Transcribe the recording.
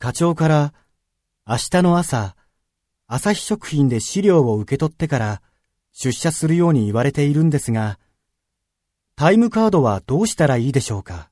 課長から明日の朝、朝日食品で資料を受け取ってから出社するように言われているんですが、タイムカードはどうしたらいいでしょうか？